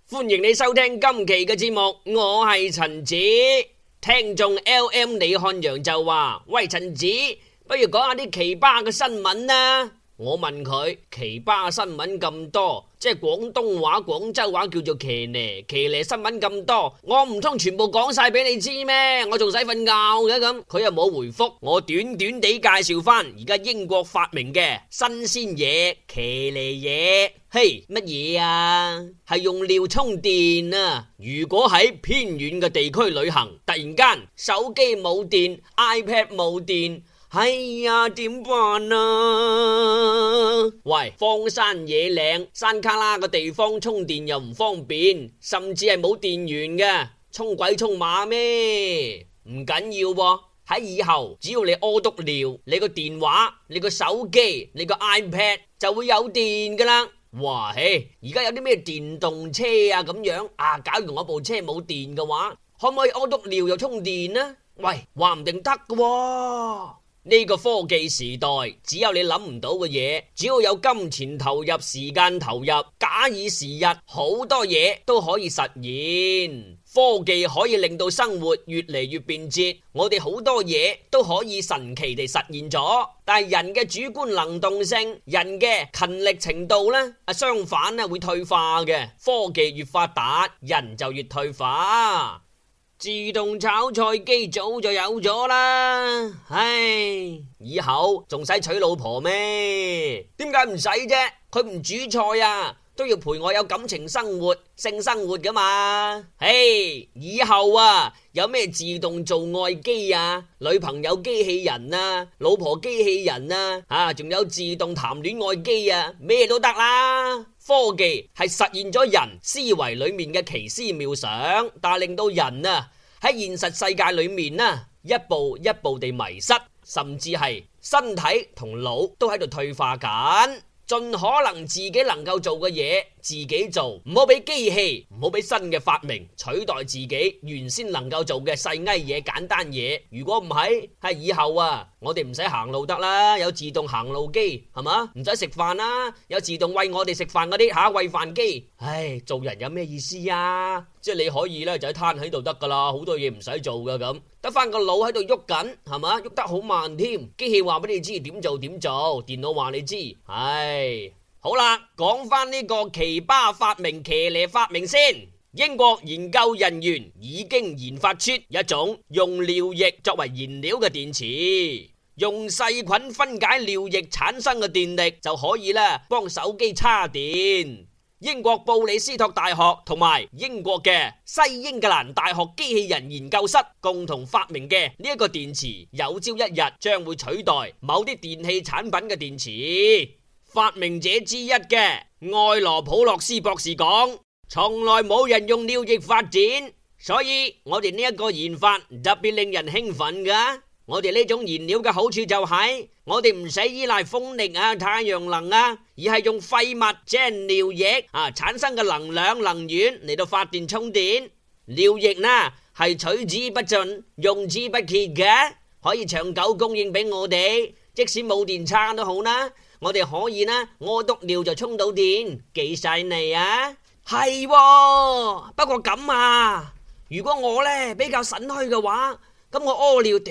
歡迎你收聽今期嘅節目，我係陳子。聽眾 LM 李漢陽就話：喂，陳子，不如講下啲奇葩嘅新聞啦。我問佢，奇葩新聞咁多，即係廣東話、廣州話叫做騎呢新聞咁多，我唔通全部講晒俾你知咩？我仲使瞓覺嘅咁？佢又冇回覆我，短短地介紹翻而家英國發明嘅新鮮嘢，騎呢嘢。嘿，乜嘢啊？係用尿充電啊！如果喺偏遠嘅地區旅行，突然間手機冇電 ，iPad 冇電。哎呀，點辦啊？喂，荒山野嶺、山卡拉嘅地方充電又唔方便，甚至係冇電源嘅，充鬼充馬咩？唔緊要喎，喺以後只要你屙督尿，你個電話、你個手機、你個 iPad 就會有電噶啦。哇嘿，而家有啲咩電動車啊咁樣啊？假如我部車冇電嘅話，可唔可以屙督尿又充電呢？喂，話唔定得㗎喎。呢個科技時代，只有你諗唔到嘅嘢，只要有金錢投入、時間投入，假以時日，好多嘢都可以實現。科技可以令到生活越嚟越便捷，我哋好多嘢都可以神奇地實現咗。但係人嘅主觀能動性、人嘅勤力程度呢，相反會退化嘅。科技越發達，人就越退化。自動炒菜機早就有咗啦，唉，以後仲使娶老婆咩？點解唔使啫？佢唔煮菜啊，都要陪我有感情生活、性生活噶嘛。嘿，以後啊，有咩自動做愛機啊、女朋友機器人啊、老婆機器人啊，仲有自動談戀愛機啊，咩都得啦。科技係實現咗人思維裏面嘅奇思妙想，但係令到人啊喺現實世界裏面啊一步一步地迷失，甚至係身體同腦都喺度退化緊。盡可能自己能夠做嘅嘢自己做，唔好俾機器，唔好俾新嘅發明取代自己原先能夠做嘅細埃嘢、簡單嘢。如果唔係，喺以後啊，我哋唔使行路得啦，有自動行路機係嘛？唔使食飯啦，有自動餵我哋食飯嗰啲餵飯機。唉，做人有咩意思啊？即係你可以咧就喺攤喺度得噶啦，好多嘢唔使做噶咁，得翻個腦喺度喐緊係嘛？喐得好慢添，機器話俾你知點做點做，電腦話你知。唉，好啦，講翻呢個奇葩發明、騎呢發明先。英國研究人員已經研發出一種用尿液作為燃料嘅電池，用細菌分解尿液產生嘅電力就可以啦，幫手機叉電。英國布里斯托大學同埋英國嘅西英格蘭大學機器人研究室共同發明嘅呢一個電池，有朝一日將會取代某啲電器產品嘅電池。發明者之一嘅愛羅普洛斯博士講：從來冇人用尿液發展，所以我哋呢一個研發特別令人興奮㗎。我哋呢種燃料嘅好處就係我哋唔使依賴風力啊、太陽能啊，而係用廢物即係尿液產生嘅能源嚟到發電充電。尿液呢係取之不盡、用之不竭嘅，可以長久供應俾我哋，即使冇電撐都好啦。我哋可以呢屙督尿就充到電，幾犀利啊！係喎，不過咁啊，如果我呢比較腎虛嘅話，咁我屙尿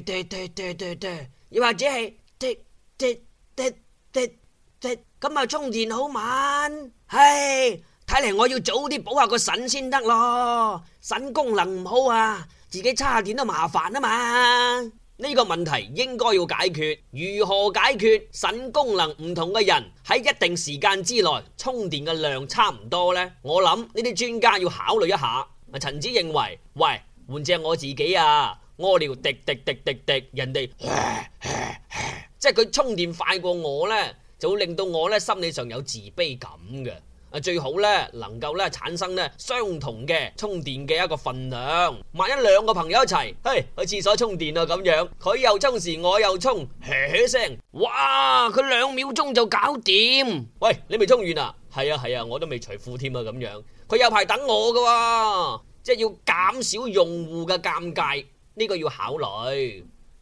又或者係咁啊充電好慢。唉，睇嚟我要早啲補下個腎先得咯，腎功能唔好啊，自己叉電都麻煩啊嘛。呢個問題應該要解決，如何解決？腎功能唔同嘅人喺一定時間之內充電嘅量差唔多呢？我諗呢啲專家要考慮一下。陳子認為，喂，換隻我自己啊，屙尿滴，人哋即係佢充電快過我呢，就會令到我呢心理上有自卑感嘅。最好呢能夠呢產生呢相同嘅充電嘅一個份量。萬一兩個朋友一齊去廁所充電啊咁樣，佢又充時我又充，聲，哇！佢2秒鐘就搞掂。喂，你未充完啊？係啊，我都未除褲添啊咁樣。佢有排等我噶，即係要減少用戶嘅尷尬，呢個要考慮。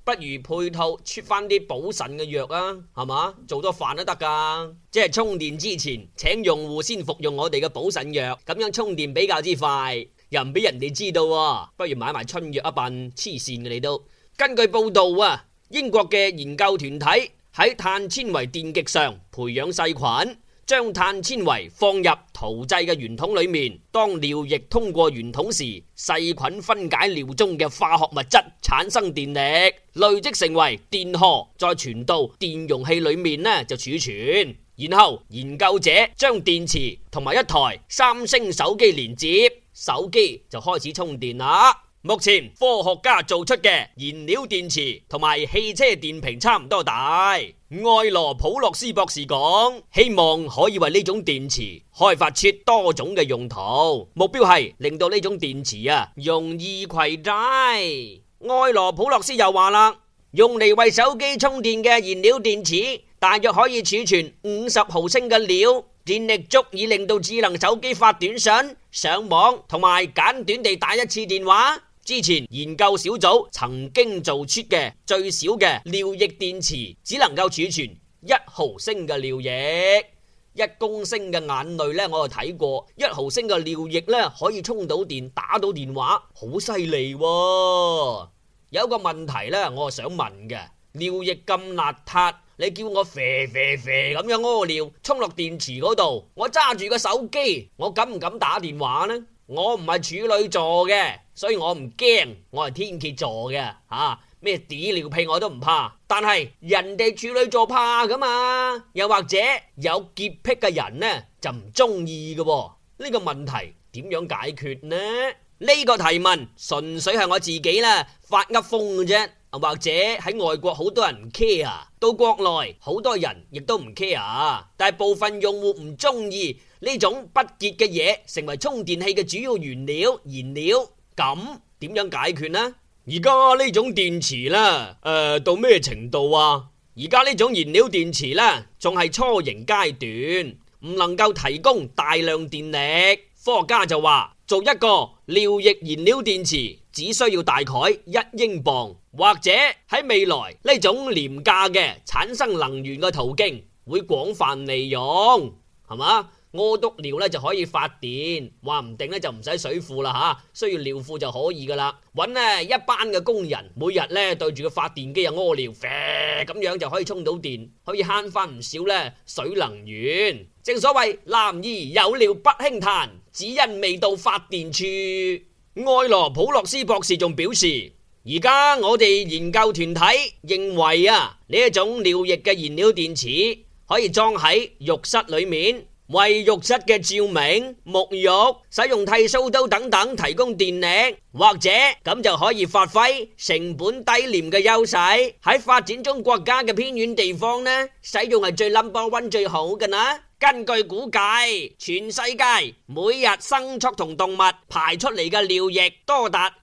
不如配套出翻啲補腎嘅藥啊，係嘛？做多飯都得噶。即係充電之前，請用戶先服用我哋嘅補腎藥，咁樣充電比較之快，又唔俾人哋知道喎。不如買埋春藥一笨，黐線嘅你都。根據報道啊，英國嘅研究團體喺碳纖維電極上培養細菌，將碳纖維放入陶製嘅圓筒裏面，當尿液通過圓筒時，細菌分解尿中嘅化學物質，產生電力，累積成為電荷，再傳到電容器裏面呢就儲存。然後研究者將電池同埋一台三星手機連接，手機就開始充電啦。目前科學家做出嘅燃料電池同埋汽車電瓶差唔多大。埃羅普洛斯博士講，希望可以為呢種電池開發出多種嘅用途，目標係令到呢種電池容易攜帶。埃羅普洛斯又話啦，用嚟為手機充電嘅燃料電池大約可以儲存50毫升嘅料，電力足以令到智能手機發短信、上網同埋簡短地打一次電話。之前研究小組曾經做出嘅最少嘅尿液電池只能夠儲存1毫升嘅尿液，1公升嘅眼淚呢，我就睇過，1毫升嘅尿液呢可以充到電打到電話，好犀利喎。有個問題呢，我係想問嘅，尿液咁邋遢，你叫我啡咁樣屙尿沖落電池嗰度，我揸住個手機，我敢唔敢打電話呢？我唔係處女座嘅，所以我唔驚，我係天蠍座嘅，咩屎尿屁我都唔怕，但係人哋處女座怕噶嘛，又或者有潔癖嘅人呢就唔中意嘅，呢個問題點樣解決呢？呢個提問純粹係我自己啦發噏風嘅啫，或者喺外國好多人唔 care， 到國內好多人亦都唔 care， 但係部分用戶唔中意呢種不潔嘅嘢成為充電器嘅主要原料燃料，咁點樣解決呢？而家呢種電池啦，到咩程度啊？而家呢種燃料電池啦，仲係初型階段，唔能夠提供大量電力。科學家就話，做一個尿液燃料電池只需要大概1英鎊，或者喺未來呢種廉價嘅產生能源嘅途徑會廣泛利用，係嘛？屙督尿咧就可以發電，話唔定咧就唔使水庫啦吓，需要尿庫就可以噶啦。搵一班嘅工人，每日咧對住個發電機屙尿，咁樣就可以充到電，可以慳翻唔少咧水能源。正所謂男兒有尿不輕彈，只因未到發電處。埃羅普洛斯博士仲表示，而家我哋研究團體認為呢一種尿液嘅燃料電池可以裝喺浴室裏面，為浴室嘅照明、沐浴、使用剃鬚刀等等提供電力，或者咁就可以發揮成本低廉嘅優勢。喺發展中國家嘅偏遠地方呢，使用係最 No.1 最好嘅啦。根據估計，全世界每日牲畜同動物排出嚟嘅尿液多達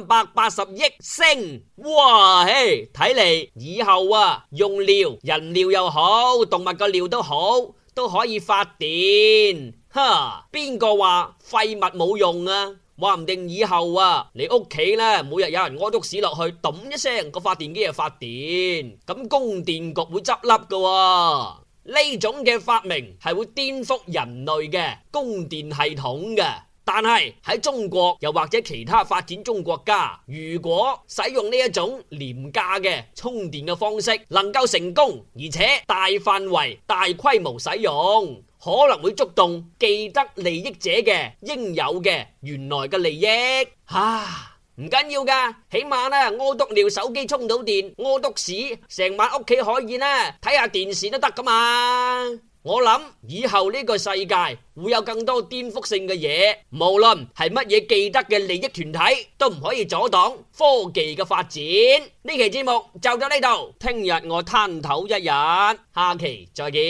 380億升。哇，睇嚟以後用尿，人尿又好，動物嘅尿都好，都可以發電。邊個話廢物冇用啊？話唔定以後你屋企呢，每日有人屙督屎落去，咚一聲個發電機就發電，咁供電局會執笠噶。呢種嘅發明係會顛覆人類嘅供電系統嘅，但係喺中國又或者其他發展中國家，如果使用呢一種廉價嘅充電嘅方式能夠成功，而且大範圍大規模使用，可能會觸動既得利益者嘅應有嘅原來嘅利益。唔緊要噶，起碼呢屙督尿手機充到電，屙督屎成晚屋企可以呢睇下電視都得噶嘛。我諗以後呢個世界會有更多顛覆性嘅嘢，無論係乜嘢既得嘅利益團體都唔可以阻擋科技嘅發展。呢期節目就到呢度，聽日我攤頭一日，下期再見。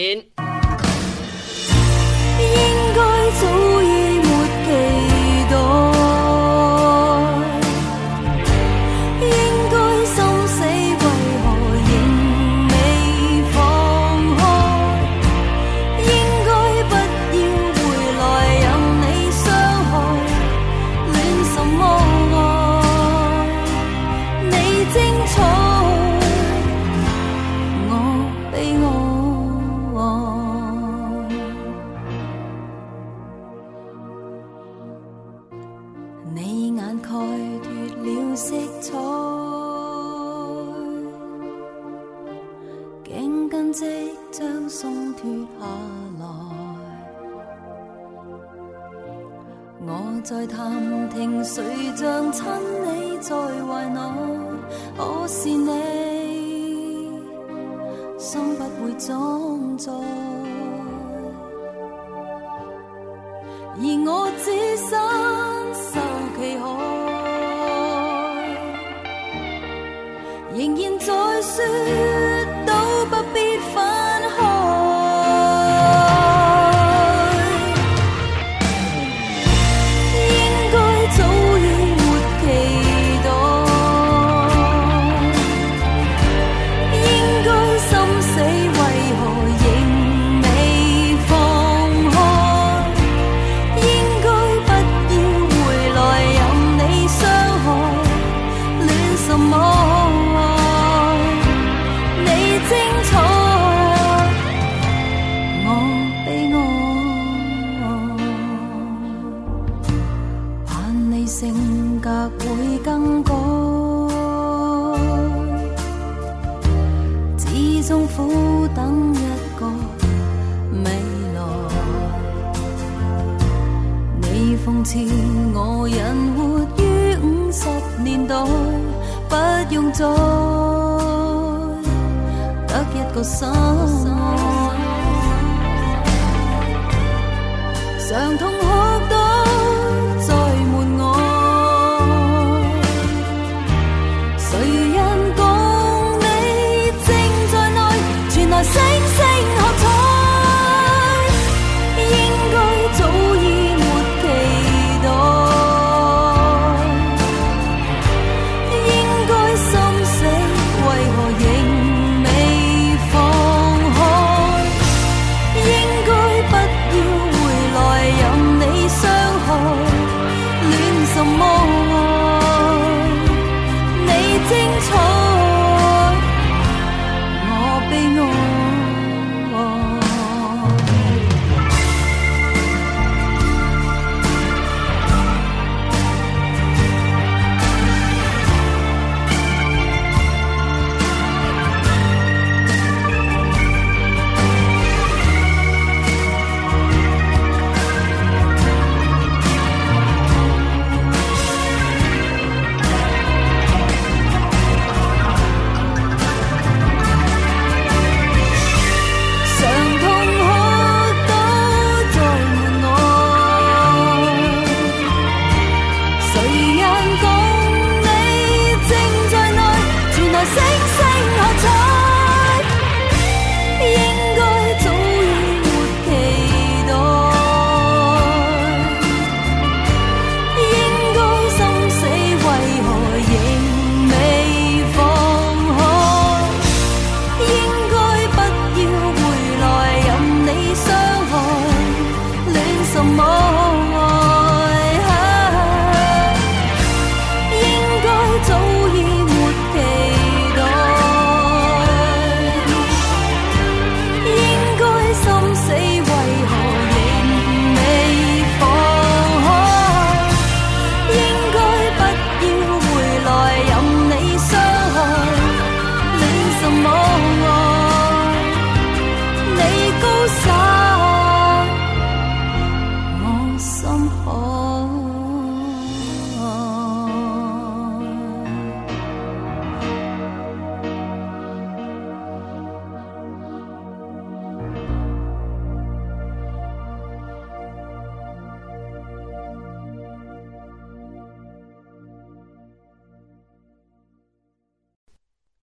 應該早已沒期待，精彩概脫了色彩，頸巾即將鬆脫下來。我在探聽誰像親你在懷內，可是你心不會裝載，而我只身受其害，仍然在說都不必分開。性格會更改，始終苦等一個未來。你諷刺我人活於50年代，不用再得一個心愛，常同學到